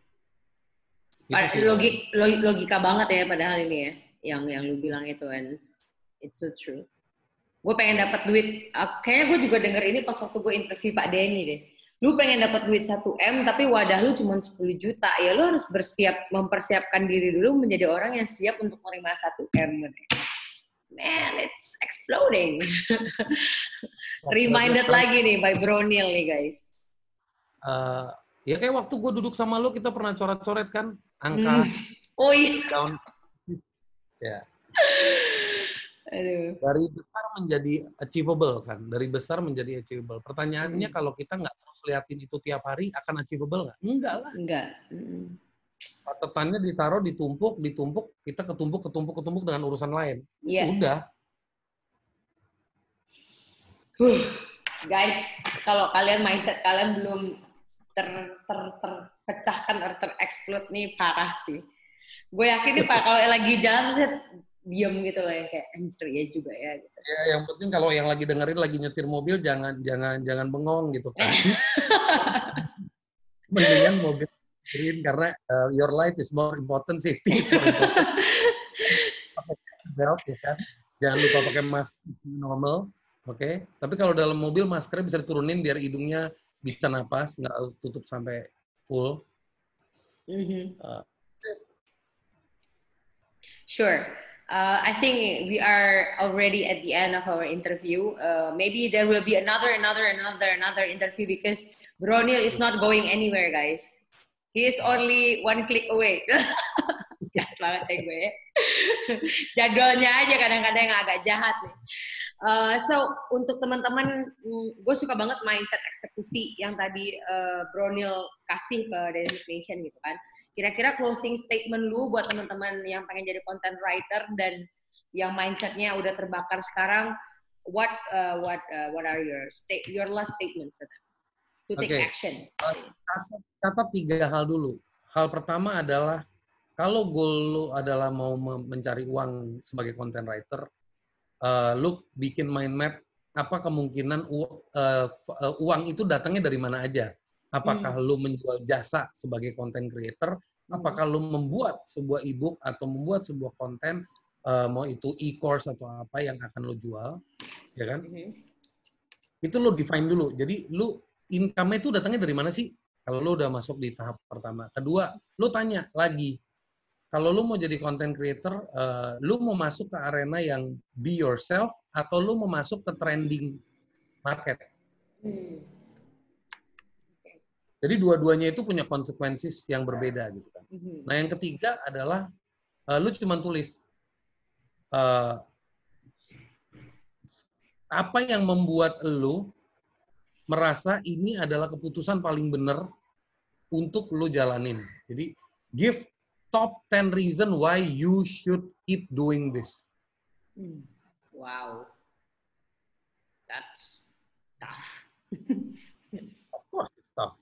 Logik, logika banget ya padahal ini ya. Yang yang lu bilang itu. And it's so true. Gue pengen dapat duit. Uh, kayaknya gue juga denger ini pas waktu gue interview Pak Denny deh. Lu pengen dapat duit satu M tapi wadah lu cuma sepuluh juta. Ya lu harus bersiap mempersiapkan diri dulu menjadi orang yang siap untuk menerima satu M. Man, it's exploding. Reminded lagi nih by Bro Neil nih guys. Uh, ya kayak waktu gue duduk sama lu kita pernah coret-coret kan angka. Hmm. Oh iya. Down. Ya. Aduh. Dari besar menjadi achievable kan, dari besar menjadi achievable. Pertanyaannya hmm. kalau kita nggak terus liatin itu tiap hari akan achievable nggak? Enggak lah. Enggak. Hmm. Catatannya ditaruh, ditumpuk, ditumpuk, kita ketumpuk, ketumpuk, ketumpuk dengan urusan lain. Yeah. Sudah. Huh. Guys, kalau kalian mindset kalian belum ter, ter, terpecahkan atau tereksplod nih parah sih. Gue yakin nih Pak kalau lagi jalan saya diam gitu loh yang kayak anjir ya juga ya gitu. Ya yang penting kalau yang lagi dengerin lagi nyetir mobil jangan jangan jangan bengong gitu kan. Mendingan mobil dengerin karena uh, your life is more important, safety is more important. Pakai belt ya kan. Jangan lupa pakai masker normal, oke? Okay? Tapi kalau dalam mobil maskernya bisa diturunin biar hidungnya bisa napas, nggak harus tutup sampai full. Mm-hmm. Uh, Sure. Uh, I think we are already at the end of our interview. Uh, maybe there will be another, another, another, another interview because Bro Neil is not going anywhere, guys. He is only one click away. Jahat banget ya gue. Jadwalnya aja kadang-kadang yang agak jahat nih. Uh, so untuk teman-teman, gue suka banget mindset eksekusi yang tadi uh, Bro Neil kasih ke Dynamic Nation gitu kan. Kira-kira closing statement lu buat teman-teman yang pengen jadi content writer dan yang mindsetnya udah terbakar sekarang, what uh, what uh, what are your state your last statement for them to take okay. action? Catat, catat tiga hal dulu. Hal pertama adalah kalau goal lu adalah mau mencari uang sebagai content writer, uh, lu bikin mind map apa kemungkinan u, uh, uang itu datangnya dari mana aja. Apakah hmm. lu menjual jasa sebagai content creator? Apakah hmm. lu membuat sebuah ebook atau membuat sebuah konten, uh, mau itu e-course atau apa yang akan lu jual, ya kan? Hmm. Itu lu define dulu. Jadi lu income itu datangnya dari mana sih? Kalau lu udah masuk di tahap pertama. Kedua, lu tanya lagi. Kalau lu mau jadi content creator, uh, lu mau masuk ke arena yang be yourself atau lu mau masuk ke trending market? Hmm. Jadi dua-duanya itu punya konsekuensi yang berbeda gitu kan. Mm-hmm. Nah yang ketiga adalah uh, lu cuma tulis uh, apa yang membuat lu merasa ini adalah keputusan paling benar untuk lu jalanin. Jadi give top ten reason why you should keep doing this. Wow, that's tough. Of course it's tough.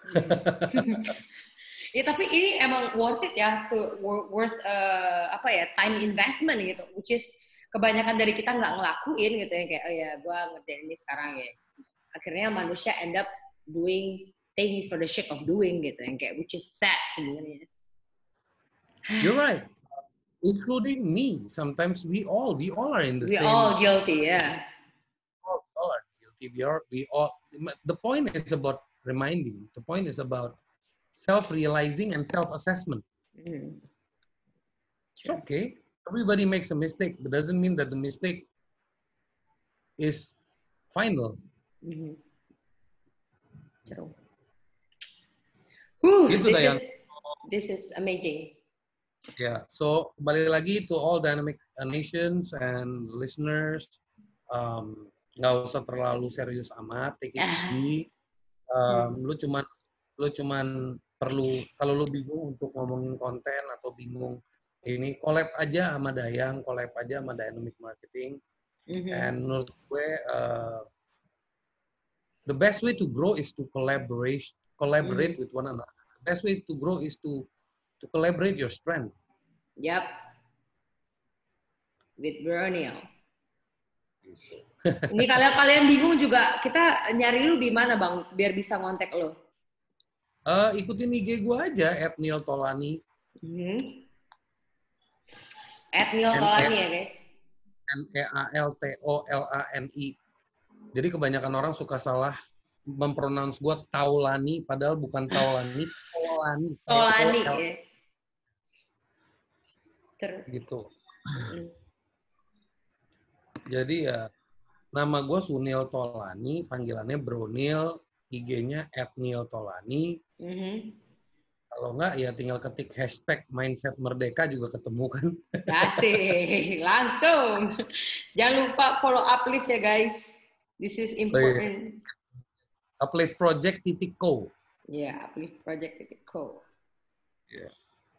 Ya tapi ini emang worth it ya, to, worth uh, apa ya time investment gitu, which is kebanyakan dari kita nggak ngelakuin gitu ya kayak oh ya gue ngerjain ini sekarang ya, akhirnya manusia end up doing things for the sake of doing gitu yang kayak which is sad sebenarnya. You're right, including me. Sometimes we all we all are in the we same. We all guilty, yeah. We all, we all are guilty. We are we all. The point is about reminding. The point is about self-realizing and self-assessment. Mm. It's okay. Everybody makes a mistake. But doesn't mean that the mistake is final. Mm-hmm. True. Whew, gitu this, dah is, this is amazing. Yeah, so kembali lagi to all Dynamic Nations and listeners, um, nggak usah terlalu serius amat, take it easy. Um, lu cuman lu cuman perlu kalau lu bingung untuk ngomongin konten atau bingung ini, collab aja sama Dayang, collab aja sama Dynamic Marketing. Mm-hmm. And menurut gue uh, the best way to grow is to collaborate collaborate Mm-hmm. with one another. The best way to grow is to to collaborate your strength. Yep. With Brunel. Ini kalau kalian bingung juga, kita nyari lu di mana bang, biar bisa ngontek lo? Uh, ikutin I G gue aja, at Neil Tolani. Mm-hmm. At Neil Tolani ya guys. N E A L T O L A N I. Jadi kebanyakan orang suka salah mempronounce gue Taulani, padahal bukan Taulani, Tolani. Tolani ya. Terus. Gitu. Mm-hmm. Jadi ya, nama gue Sunil Tolani, panggilannya Bronil, I G-nya at Neil Tolani. Mm-hmm. Kalau enggak, ya tinggal ketik hashtag Mindset Merdeka juga ketemu kan. Asik, langsung. Jangan lupa follow Uplift ya guys. This is important. Uplift Project titik co. Ya, yeah, Uplift Project titik co. Yeah.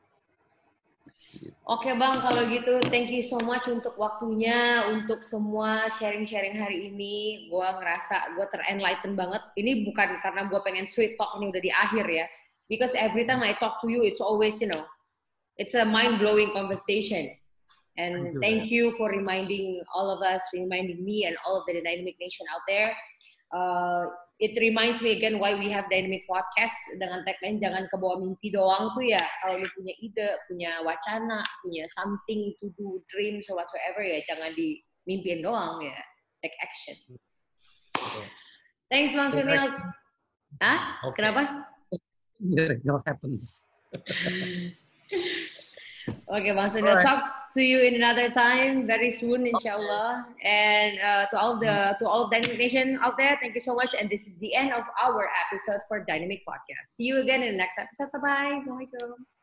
Oke bang, kalau gitu thank you so much untuk waktunya, untuk semua sharing-sharing hari ini. Gue ngerasa gue ter-enlighten banget. Ini bukan karena gue pengen sweet talk ini udah di akhir ya. Because every time I talk to you, it's always, you know, it's a mind-blowing conversation. And thank you for reminding all of us, reminding me and all of the Dynamic Nation out there. Uh, it reminds me again why we have Dynamic Podcast dengan tagline jangan kebawa mimpi doang tuh ya. Kalau lu punya ide, punya wacana, punya something to do, dreams or whatsoever ya, jangan dimimpin doang ya. Take action. Okay. Thanks Bang Sunil. Hah? Okay. Kenapa? Miracle happens. Okay, Bang Sunil, right. Talk to you in another time, very soon, inshallah. Okay. And uh, to all the to all of Dynamic Nation out there, thank you so much. And this is the end of our episode for Dynamic Podcast. See you again in the next episode. Bye bye. Assalamualaikum.